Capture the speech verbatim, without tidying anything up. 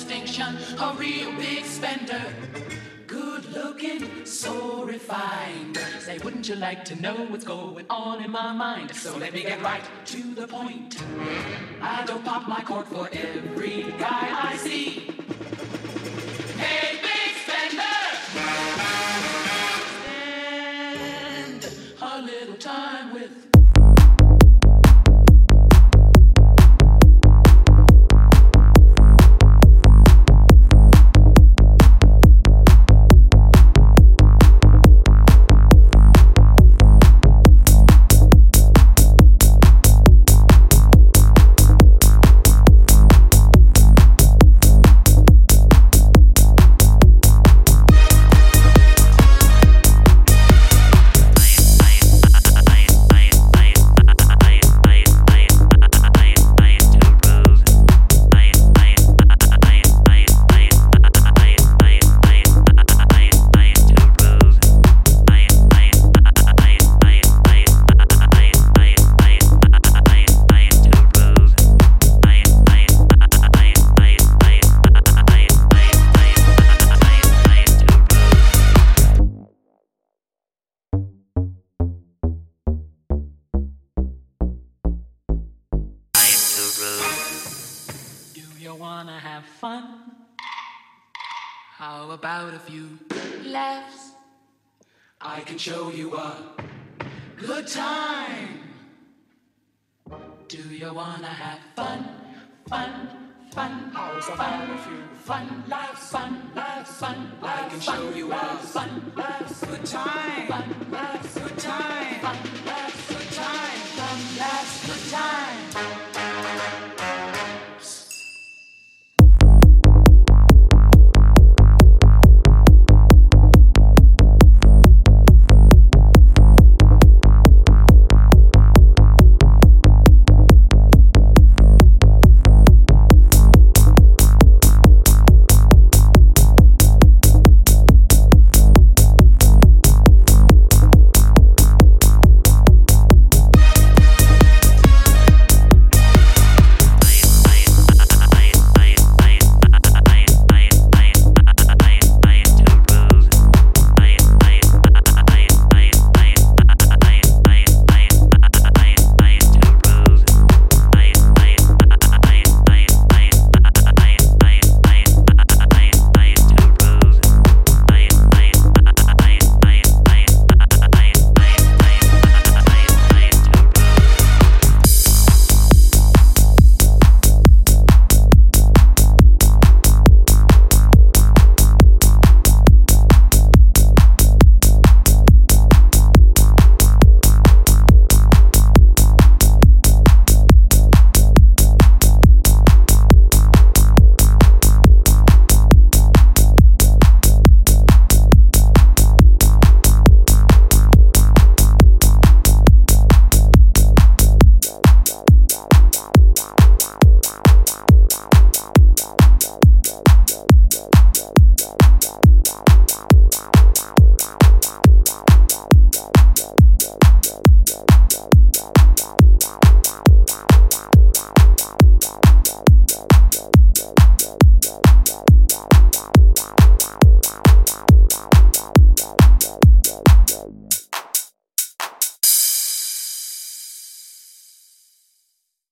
distinction, a real big spender. Good looking, so refined. Say, wouldn't you like to know what's going on in my mind? So let me get right to the point. I don't pop my cork for every guy I see. Hey, big spender! Spend a little time with wanna have fun? How about a few laughs? I can show you a good time. Do you wanna have fun? Fun, fun, how's fun, a few fun laughs, fun laughs, fun laughs. I can show you a fun laughs, good time, fun laughs, good time, fun laughs, good time, fun laughs, good time.